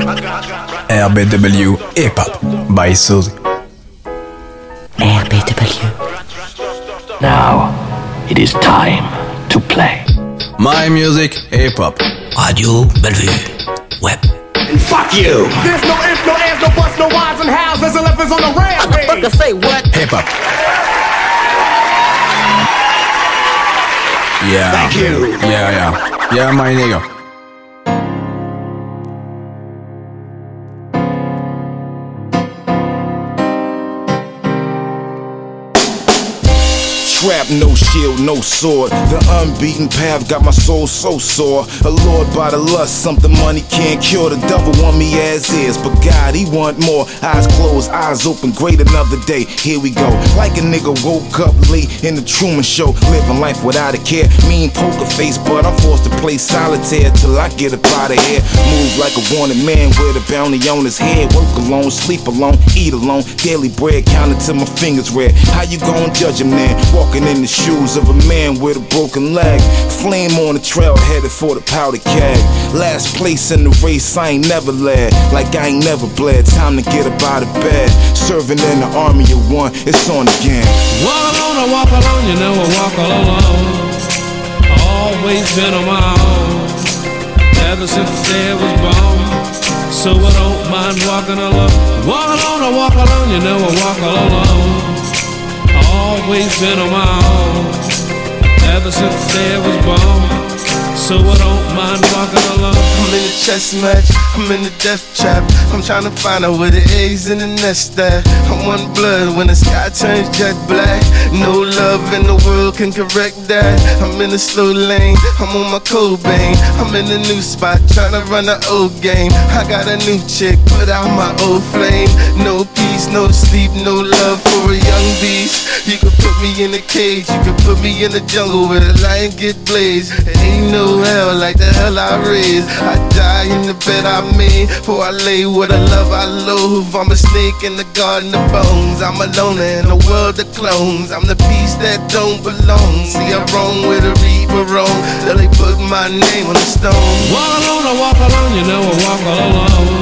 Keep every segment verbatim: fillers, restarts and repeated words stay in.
R B W Hip Hop by Suzy. R B W. Now it is time to play. My music, hip hop. Radio Bellevue. Web. And fuck you! There's no ifs, no ands, no buts, no whys and hows. There's elephants on the rampage. What the fuck say what? Hip hop. Yeah. Thank you. Yeah, yeah. Yeah, my nigga. Trap, no shield, no sword. The unbeaten path got my soul so sore. Allured by the lust, something money can't cure. The devil want me as is, but God, he want more. Eyes closed, eyes open, great another day. Here we go. Like a nigga woke up late in the Truman Show, living life without a care. Mean poker face, but I'm forced to play solitaire till I get up out of here. Move like a wanted man with a bounty on his head. Work alone, sleep alone, eat alone. Daily bread counted till my fingers red. How you gon' judge him then? Walking in the shoes of a man with a broken leg. Flame on the trail headed for the powder keg. Last place in the race, I ain't never led. Like I ain't never bled. Time to get up out of bed. Serving in the army of one, it's on again. Walk alone, I walk alone, you know I walk alone. Always been on my own, ever since the day I was born. So I don't mind walking alone. Walk alone, I walk alone, you know I walk alone. Always been on my own, ever since the day I was born. So I don't mind walking alone. I'm in the chess match, I'm in the death trap. I'm trying to find out where the eggs in the nest at. I'm one blood when the sky turns jet black. No love in the world can correct that. I'm in a slow lane, I'm on my Cobain. I'm in a new spot, trying to run the old game. I got a new chick, put out my old flame. No peace, no sleep, no love for a young beast. You could put me in a cage, you could put me in the jungle where the lion get blazed. It ain't no hell like the hell I raised. I die in the bed I made, for I lay with a love I loathe. I'm a snake in the garden of bones. I'm a loner in a world of clones. I'm the piece that don't belong. See, I'm wrong with a reaper wrong. Till they put my name on the stone. Walk alone, I walk alone, you know I walk alone.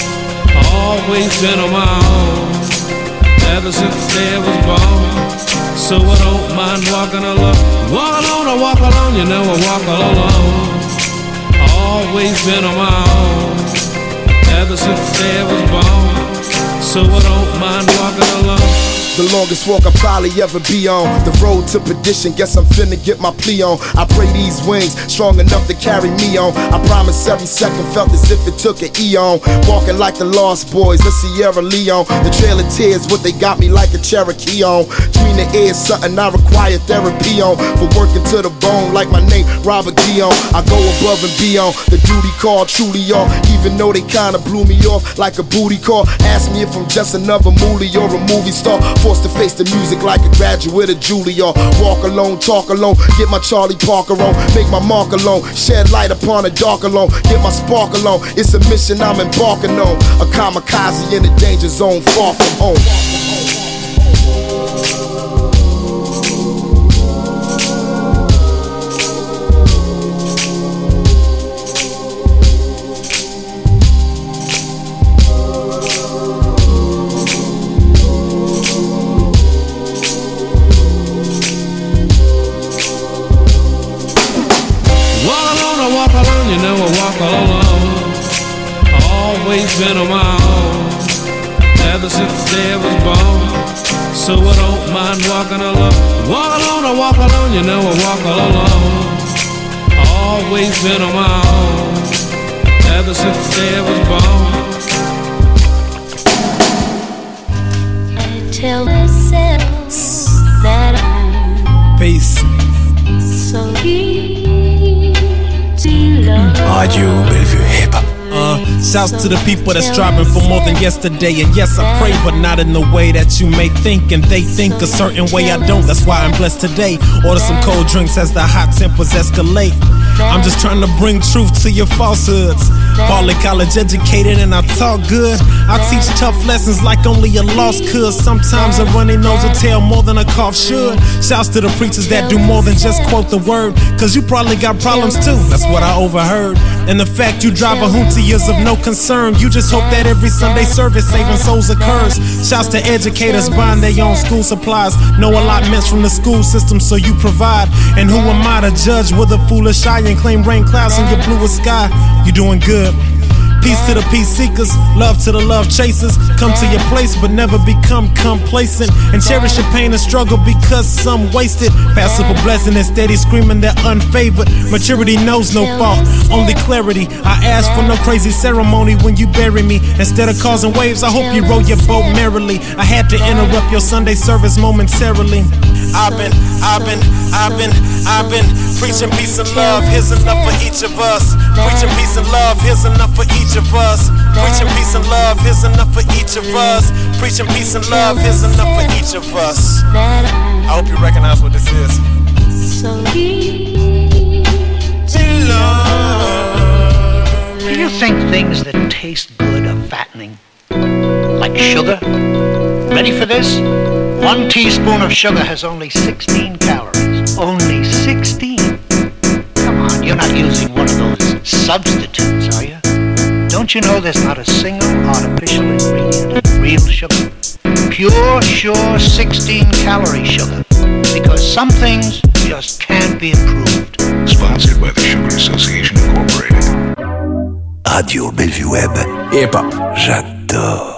Always been on my own, ever since the day I was born. So I don't mind walking alone. Walk alone, I walk alone, you know I walk alone. Always been on my own, ever since the day I was born. So I don't mind walking alone. The longest walk I'll probably ever be on. The road to perdition, guess I'm finna get my plea on. I pray these wings strong enough to carry me on. I promise every second felt as if it took an eon. Walking like the Lost Boys, the Sierra Leone. The Trail of Tears, what they got me like a Cherokee on. Between the ears, something I require therapy on. For working to the bone like my name, Robert Dion. I go above and beyond, the duty called truly on. Even though they kinda blew me off like a booty call. Ask me if I'm just another movie or a movie star. Forced to face the music like a graduate of Juilliard. Walk alone, talk alone, get my Charlie Parker on. Make my mark alone, shed light upon a dark alone. Get my spark alone, it's a mission I'm embarking on. A kamikaze in the danger zone, far from home. You know I walk alone. Always been on my own, ever since the day I was born. So I don't mind walking alone. Walk alone, I walk alone, you know I walk alone. Always been on my own, ever since the day I was born. I tell myself that I'm Peace. so easy. Radio Bellevue Hip Hop. Uh, shouts to the people that's striving for more than yesterday. And yes, I pray, but not in the way that you may think. And they think a certain way, I don't. That's why I'm blessed today. Order some cold drinks as the hot tempers escalate. I'm just trying to bring truth to your falsehoods. Partly college educated and I talk good. I teach tough lessons like only a lost could. Sometimes a runny nose will tell more than a cough should. Shouts to the preachers that do more than just quote the word, cause you probably got problems too, that's what I overheard. And the fact you drive a hoontie is of no concern. You just hope that every Sunday service saving souls occurs. Shouts to educators buying their own school supplies. No allotments from the school system, so you provide. And who am I to judge with a foolish eye and claim rain clouds in your bluest sky? You doing good. Peace to the peace seekers, love to the love chasers. Come to your place but never become complacent, and cherish your pain and struggle because some waste it. Passive a blessing and steady screaming they're unfavored. Maturity knows no fault, only clarity. I ask for no crazy ceremony when you bury me. Instead of causing waves, I hope you row your boat merrily. I had to interrupt your Sunday service momentarily. I've been, I've been, I've been, I've been preaching peace and love, here's enough for each of us. Preaching peace and love, here's enough for each of us. Preaching peace and love, here's enough for each of us. Preaching peace and love, here's enough for each of us. I hope you recognize what this is. Do you think things that taste good are fattening? Like sugar? Ready for this? One teaspoon of sugar has only sixteen calories. Only sixteen? Come on, you're not using one of those substitutes, are you? Don't you know there's not a single artificial ingredient in real sugar? Pure, sure sixteen calorie sugar. Because some things just can't be improved. Sponsored by the Sugar Association Incorporated. Radio Bellevue Web. Hip-hop. J'adore.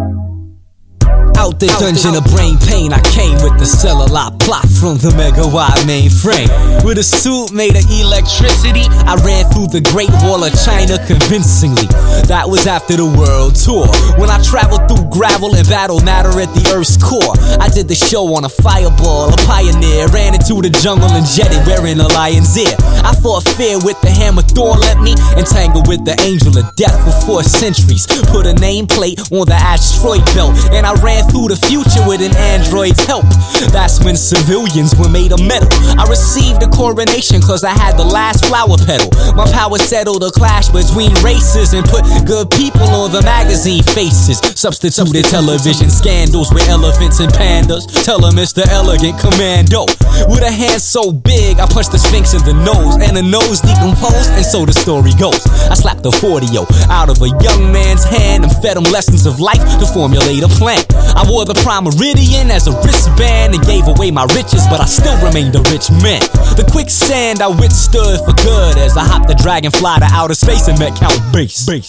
Out the dungeon of brain pain, I came with the cellular plot from the megawatt mainframe. With a suit made of electricity, I ran through the Great Wall of China convincingly. That was after the world tour, when I traveled through gravel and battled matter at the Earth's core. I did the show on a fireball, a pioneer. Ran into the jungle and jetted wearing a lion's ear. I fought fear with the hammer Thor let me, entangled with the angel of death for four centuries. Put a nameplate on the asteroid belt, and I ran through the future with an android's help. That's when civilians were made of metal. I received a coronation cause I had the last flower petal. My power settled a clash between races and put good people on the magazine faces. Substituted television scandals with elephants and pandas. Tell them it's the elegant commando. With a hand so big I punched the Sphinx in the nose, and the nose decomposed, and so the story goes. I slapped the forty-oh out of a young man's hand and fed him lessons of life to formulate a plan. I wore the prime meridian as a wristband and gave away my riches, but I still remained a rich man. The quicksand I withstood for good as I hopped the dragonfly to outer space and met Count Bass.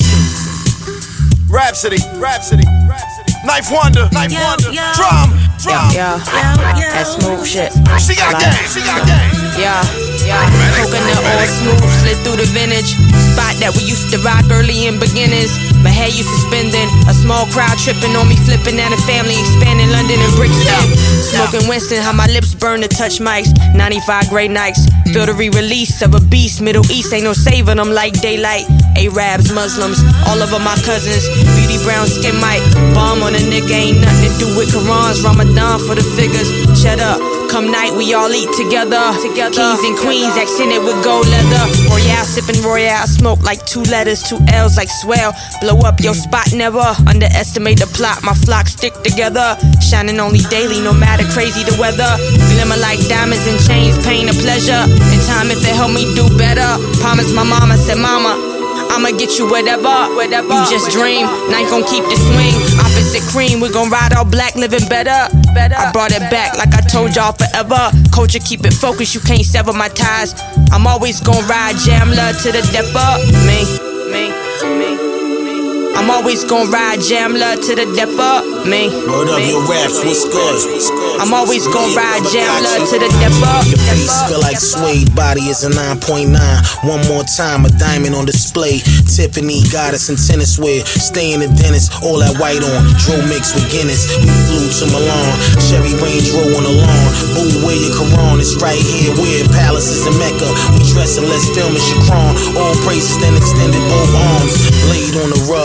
Rhapsody, Rhapsody, Rhapsody. Knife Wonder, Knife yo, Wonder, yo. drum, drum. Yeah, yeah, that smooth shit. She got like, game, she got game. Yeah, yeah. Coconut oil smooth, slid through the vintage spot that we used to rock early in beginnings. My head used to spinning, a small crowd tripping on me, flipping at a family, expanding London and Brixton. Smoking Winston, how my lips burn to touch mics. ninety-five great nights, feel the re-release of a beast. Middle East ain't no saving them like daylight. Arabs, Muslims, all of them my cousins. Beauty brown skin might bomb on a nigga, ain't nothing to do with Qurans. Ramadan for the figures, shut up. Come night, we all eat together. together. Kings and queens, accented with gold leather. Royale, sipping Royale, smoke like two letters, two L's like swell. Blow up your spot, never underestimate the plot. My flock stick together, shining only daily, no matter crazy the weather. Glimmer like diamonds and chains, pain or pleasure. In time, if it help me do better. Promise my mama, said mama, I'ma get you whatever, whatever. You just dream, knife gon' keep the swing. Opposite cream, we gon' ride all black, living better. better. I brought it back like I told y'all forever. Culture, keep it focused, you can't sever my ties. I'm always gon' ride jam love to the depth up. Me, me, me. I'm always gon' ride jam love to the depth up. Me, Word up, your raps, what's good? I'm always gon' ride jam love to the depth up. Your face feel like suede, body is a nine point nine. One more time, a diamond on display. Tiffany, goddess, and tennis wear. Stay in the dentist, all that white on. Dro mixed with Guinness. We flew to Milan. Cherry Range roll on the lawn. Boo, wear your Quran. It's right here where palaces in Mecca. We dress and let's film in Shakran. All praises then extended both arms. Laid on the rug.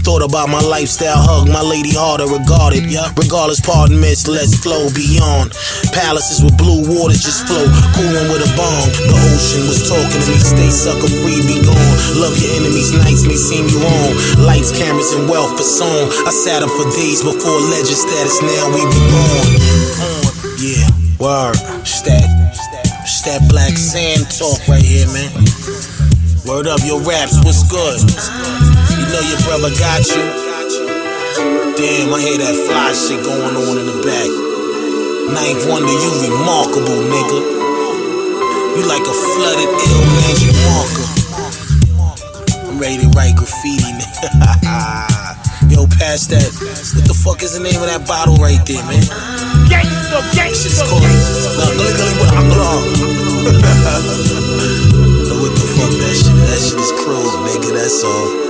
Thought about my lifestyle, hug my lady harder, regarded. Yeah. Regardless, pardon, miss, let's flow beyond. Palaces with blue waters just flow, cooling with a bomb. The ocean was talking to me, stay sucker free, be gone. Love your enemies, nights may seem you on. Lights, cameras, and wealth for song. I sat up for days before legend status, now we be born. Yeah, word, stat, stat black sand talk right here, man. Word up, your raps, what's good? You know your brother got you. Damn, I hear that fly shit going on in the back. Ninth Wonder, you remarkable, nigga. You like a flooded ill magic marker. I'm ready to write graffiti, nigga. Yo, pass that. What the fuck is the name of that bottle right there, man? Gangsta, gangsta. Shit's called Gully Gully with Aklar. What the fuck that shit? That shit is cruel, nigga, that's all.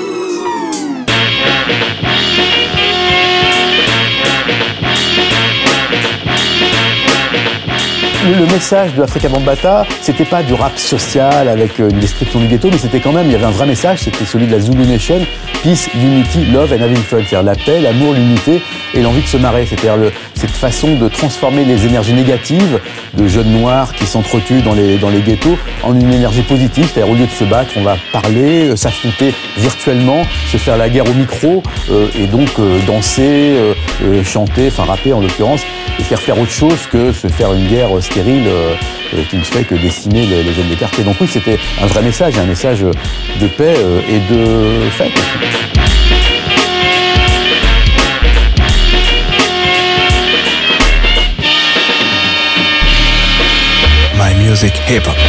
Le message de Afrika Bambaataa, c'était pas du rap social avec une description du ghetto, mais c'était quand même, il y avait un vrai message, c'était celui de la Zulu Nation, Peace, Unity, Love and Having Fun, c'est-à-dire la paix, l'amour, l'unité et l'envie de se marrer, c'est-à-dire le, cette façon de transformer les énergies négatives de jeunes noirs qui s'entretuent dans les, dans les ghettos en une énergie positive, c'est-à-dire au lieu de se battre, on va parler, euh, s'affronter virtuellement, se faire la guerre au micro euh, et donc euh, danser, euh, euh, chanter, enfin rapper en l'occurrence, et faire faire autre chose que se faire une guerre stérile euh, euh, qui ne fait que décimer les, les jeunes des quartiers. Donc oui, c'était un vrai message, un message de paix euh, et de fête. My music hip hop.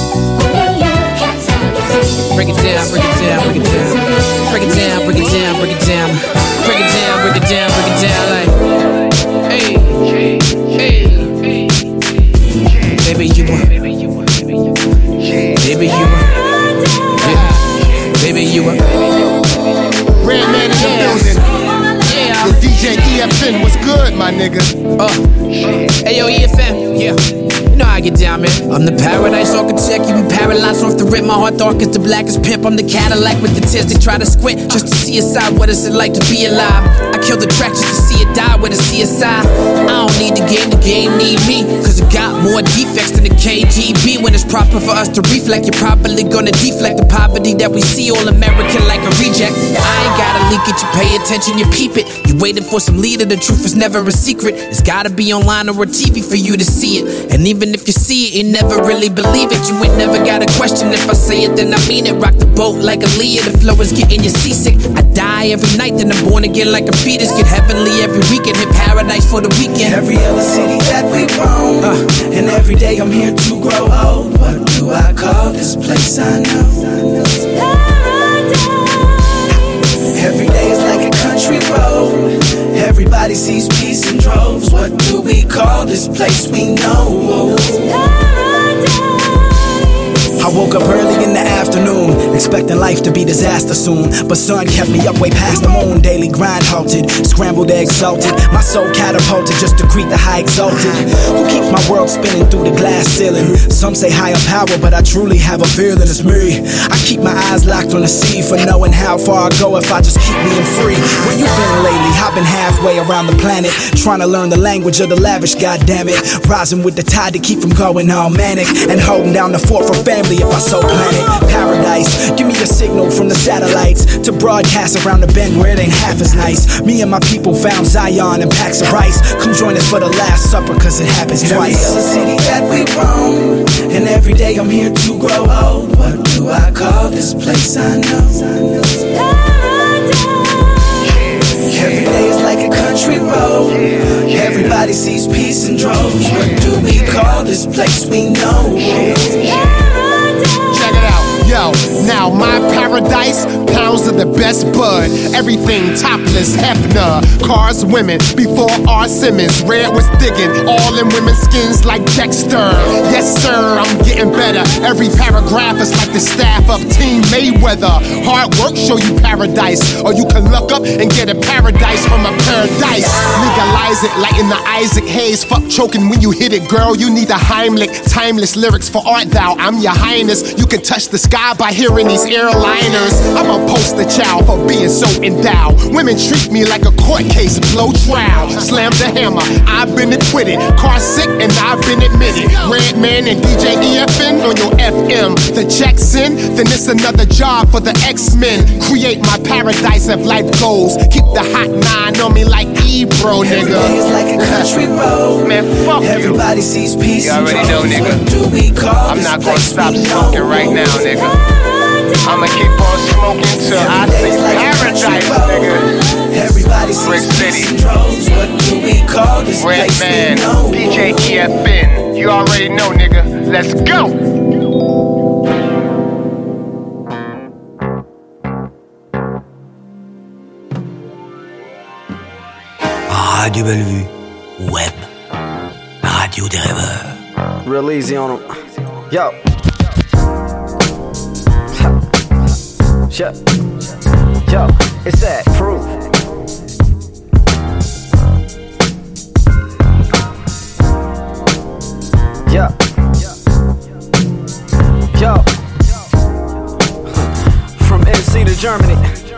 Break it down, break it down, break it down. Break it down, break it down, break it down. Break it down, break it down, break it down like hey, hey. Baby you were Baby you were Baby you were yeah. Baby you were Redman in the building. Yeah. The D J E F N, what's good, my nigga? Uh, hey yo, E F N, yeah. You know how I get down, man. I'm the paradise architect, you be paralyzed off the rip. My heart dark as the blackest pimp. I'm the Cadillac with the tears they try to squint just to see inside. What is it like to be alive? I kill the track just to see it die with a C S I. I don't need the game, the game need me, cause it got more defects than the K G B. When it's proper for us to reflect, you're probably gonna deflect the poverty that we see. All American like a reject. I ain't gotta leak it, you pay attention, you peep it. You waiting for some leader, the truth is never a secret. It's gotta be online or a T V for you to see it. And even if you see it, you never really believe it. You ain't never got a question. If I say it, then I mean it. Rock the boat like a Leah. The flow is getting you seasick. I die every night, then I'm born again like a fetus. Get heavenly every weekend, hit paradise for the weekend. Every other city that we roam, uh, and every day I'm here to grow old. What do I call this place I know? Every day is like a country road. Everybody sees peace in droves. What do we call this place we know? I woke up early in the afternoon, expecting life to be disaster soon, but sun kept me up way past the moon. Daily grind halted, scrambled eggs salted, my soul catapulted just to greet the high exalted. Who keeps my world spinning through the glass ceiling? Some say higher power, but I truly have a feeling it's me. I keep my eyes locked on the sea for knowing how far I go if I just keep being free. Where you been lately? I've been halfway around the planet, trying to learn the language of the lavish, goddammit. Rising with the tide to keep from going all manic, and holding down the fort for family if I so plan it. Paradise, give me a signal from the satellites to broadcast around the bend where it ain't half as nice. Me and my people found Zion and packs of rice. Come join us for the Last Supper, cause it happens twice. Every other city that we roam, and every day I'm here to grow old. What do I call this place I know? Every day is like a country road. Everybody sees peace in droves. What do we call this place we know? Check it out. Yo, now my paradise, pounds of the best bud. Everything topless, Hefner. Cars, women, before R. Simmons. Red was digging, all in women's skins like Dexter. Yes, sir, I'm getting better. Every paragraph is like the staff of Team Mayweather. Hard work show you paradise, or you can look up and get a paradise from a paradise. Legalize it like in the Isaac Hayes. Fuck choking when you hit it, girl. You need a Heimlich. Timeless lyrics for art thou. I'm your highness. You can touch the sky by hearing these airliners. I'm a poster child off of being so endowed. Women treat me like a court case, blow trial. Slam the hammer, I've been acquitted. Car sick and I've been admitted. Redman and D J E F N on your F M. The check's in, then it's another job for the X-Men. Create my paradise if life goes. Keep the hot nine on me like Ebro, nigga. Every day is like a country road. Man, fuck Everybody you. sees peace You already and know, droves. nigga. What do we call I'm this not gonna place stop we smoking know? right now, nigga. I'ma keep on smoking till I see paradise, nigga. Everybody Brick sees City. peace and droves. What do we call this place we Redman, know? D J E F N. You already know, nigga. Let's go. Radio Bellevue, Web, Radio des rêveurs. Real easy on them. Yo. Yo. Yo. It's that proof. Yo. Yo. From N C to Germany.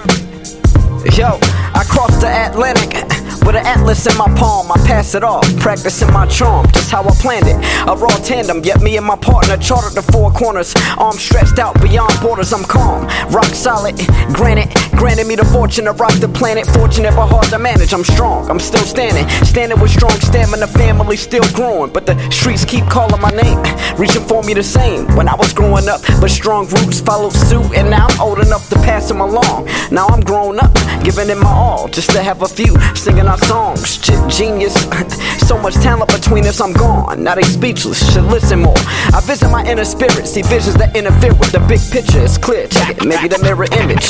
Yo, I crossed the Atlantic with an atlas in my palm. I pass it off, practicing my charm, just how I planned it. A raw tandem, yet me and my partner charted the four corners. Arms stretched out beyond borders, I'm calm, rock solid. Granted, granted me the fortune to rock the planet. Fortunate but hard to manage, I'm strong, I'm still standing. Standing with strong stamina, family still growing. But the streets keep calling my name, reaching for me the same. When I was growing up, but strong roots followed suit. And now I'm old enough to pass them along. Now I'm grown up, giving it my all, just to have a few singing our songs. Genius, so much talent between us, I'm gone. Now they speechless, should listen more. I visit my inner spirit, see visions that interfere with the big picture. It's clear, check it, maybe the mirror image.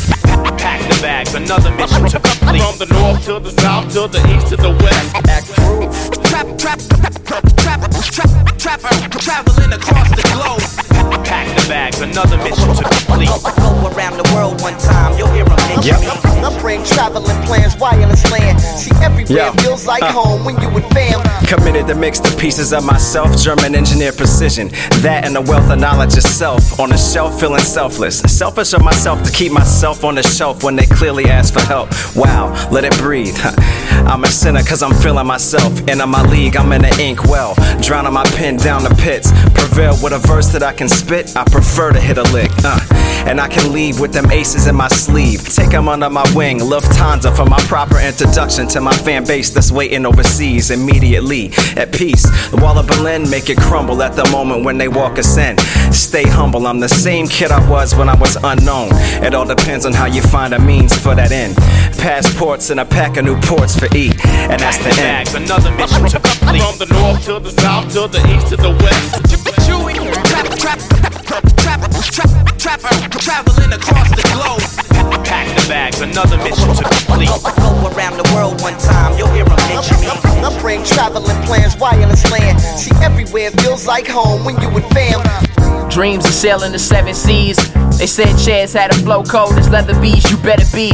Pack the bags, another mission to complete. From the north to the south, to the east to the west. Act proof. Trap, trap, trap, trap, trap, trap, traveling across the globe. Pack the bags, another mission to complete. Go around the world one time, you'll hear them mention me. I bring traveling plans, wireless land. See everywhere, Yo. feels like Uh. home when you with fam. Committed to mix the pieces of myself, German engineer precision. That and the wealth of knowledge itself. On the shelf, feeling selfless. Selfish of myself to keep myself on the shelf when they clearly ask for help. Wow, let it breathe. I'm a sinner cause I'm feeling myself. And in my league, I'm in the ink well. Drowning my pen down the pits. Prevail with a verse that I can spit. I prefer to hit a lick. Uh, and I can leave with them aces in my sleeve. Take them under my wing. Lufthansa for my proper introduction to my fan base that's waiting overseas immediately. At peace, the wall of Berlin make it crumble at the moment when they walk us in. Stay humble, I'm the same kid I was when I was unknown. It all depends on how you find a means for that end. Passports and a pack of new ports for E, and that's the end. Bags, another mission to complete. From the north to the south, to the east to the west. Chewy, trap, trap, trap, trap, trap, trap, traveling across the globe. Pack the bags, another mission to complete. Go around the world one time, you'll hear them mention me. I bring traveling plans, wireless land. See everywhere, feels like home when you with fam. Dreams of sailing the seven seas. They said Chaz had a flow cold as leather bees, you better be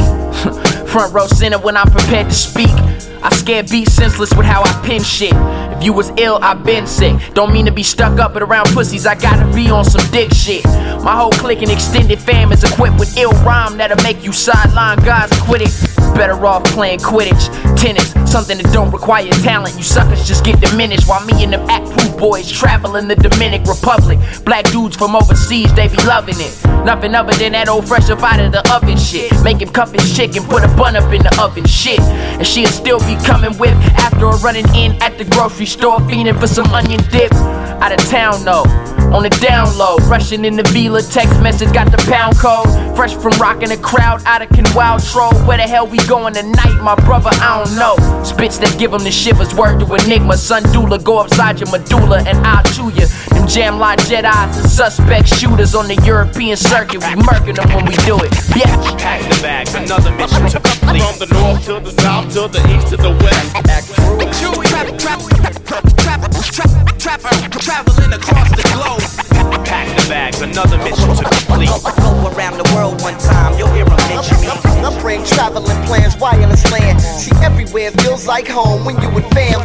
front row center when I'm prepared to speak. I scare beat senseless with how I pen shit. If you was ill, I been sick. Don't mean to be stuck up, but around pussies, I gotta be on some dick shit. My whole clique and extended fam is equipped with ill rhyme that'll make you sideline guys quit it. Better off playing Quidditch, tennis, something that don't require talent. You suckers just get diminished while me and them act proof boys travel in the Dominican Republic. Black dudes from overseas, they be loving it. Nothing other than that old fresh up out of the oven shit. Make him cuff his chick and put a bun up in the oven shit. And she'll still be coming with after a running in at the grocery store, fiending for some onion dip. Out of town though, on the down low, rushing in the Vila, text message got the pound code. Fresh from rocking the crowd out of Canwell Troll. Where the hell we going tonight, my brother? I don't know. Spits that give them the shivers, word to Enigma. Sun doula, go upside your medulla and I'll chew ya. Them jam line Jedis and suspect shooters on the European circuit. We murking them when we do it, bitch. Pack the bags, another mission to complete. From the north to the south, to the east to the west. Act true. Chewy, trap, trap, trap, trap, trap, trap, traveling across the globe. Pack the bags, another mission to complete. Go around the world one time, you'll hear them mention me. I bring traveling plans, wireless land. See everywhere, feels like home when you with fam.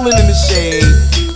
Rolling in the shade.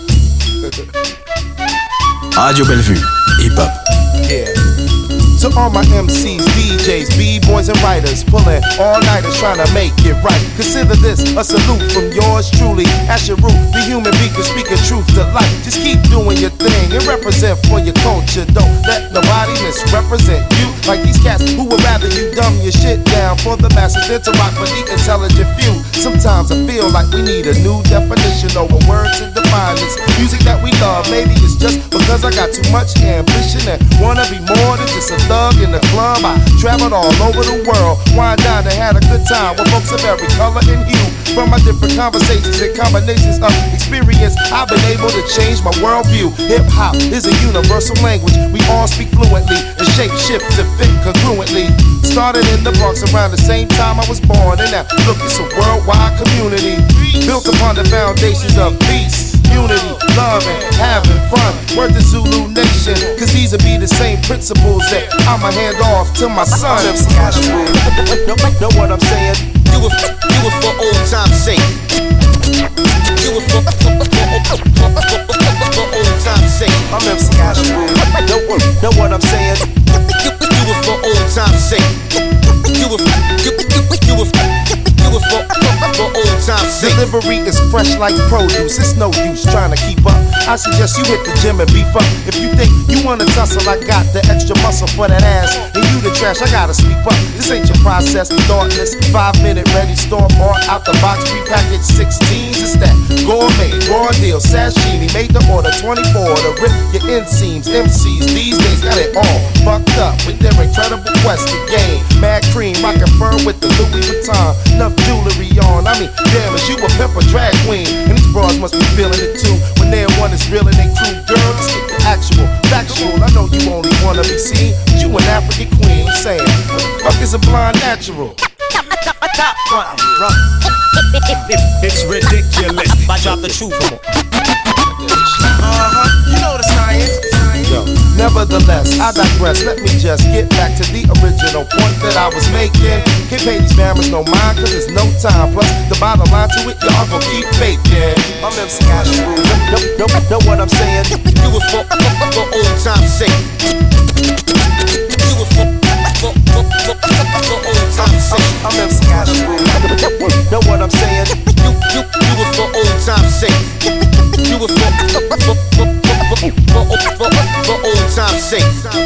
Radio Bellevue, hip-hop. Yeah. To all my M Cs, D Js, B-boys and writers, pulling all-nighters trying to make it right. Consider this a salute from yours truly. As your root, the human beacon speaking truth to life. Just keep doing your thing and represent for your culture. Don't let nobody misrepresent you like these cats who would rather you dumb your shit down for the masses than to rock for the intelligent few. Sometimes I feel like we need a new definition or a word to define this music that we love. Maybe it's just because I got too much ambition and wanna be more than just a thug in the club. I traveled all over the world, wined down and had a good time with folks of every color and hue. From my different conversations and combinations of experience, I've been able to change my worldview. Hip hop is a universal language we all speak fluently and shape shift to fit congruently. Started in the Bronx around the same time I was born, and now look, it's a worldwide community built upon the foundations of peace, unity, love, and having fun. Word to Zulu Nation, cause these will be the same principles that I'ma hand off to my son. Know, know what I'm saying? Do it, do it for old time's sake. Do it for, for, for, for, for old time's sake. I'm M C Ashwood. Know, know what I'm saying? Do, do it for old time's sake. Do it, do, do, do it, do it for, for old time's sake. Delivery is fresh like produce. It's no use trying to keep up. I suggest you hit the gym and beef up. If you think you wanna tussle, I got the extra muscle for that ass. And you the trash, I gotta sweep up. This ain't your process, thoughtless. Five minute ready, store bought out the box, prepackaged sixteens. It's that gourmet, raw deal, sashimi. Made the order twenty-four to rip your inseams. M Cs these days got it all fucked up with their incredible quest to gain. Mad cream, rockin' fur with the Louis Vuitton. Enough jewelry on. I mean, damn, is you a pimp or drag queen? And these bras must be feeling it too. When they're one is real and they crew, girl, let's get the actual, factual. I know you only wanna be seen, but you an African queen. I'm saying, what the fuck is a blind natural? It's ridiculous. I drop the truth. Uh-huh, you know the science. Yo, nevertheless, I digress. Let me just get back to the original point that I was making. Can't pay these mammals no mind, cause there's no time. Plus, the bottom line to it, y'all gon' keep faking. I'm M C Ashwood. Know, know, know what I'm saying? Do it for, for, for old time's sake. Do it for, for, for, for, for old time's sake. I'm M C Ashwood. Know what I'm saying? Do, do, do it for old time's sake. Do it for, for, for, for, for, for, for, for old time's sake.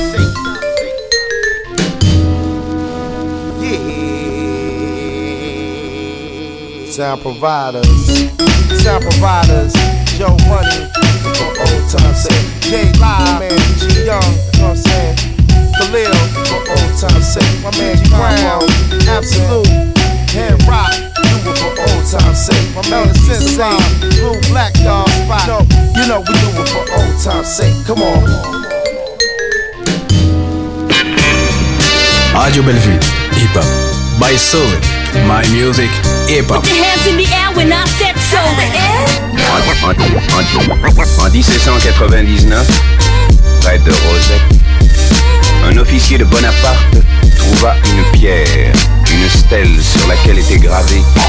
Sound providers, sound providers, Joe Money, for old time's sake. J Live, man, G Young, you know what I'm saying? Khalil, for old time's sake. My man G Brown, Absolute, Head Rock, do it for old time's sake. My man the Sensei, Blue Black Dog Spot, no, you know we do it for old time's sake. Come on. Radio Bellevue, hip-hop. By Soul, my music, hip-hop. Put your hands in the air when I said so. En, en, en dix-sept cent quatre-vingt-dix-neuf, près de Rosette, un officier de Bonaparte trouva une pierre, une stèle sur laquelle était gravé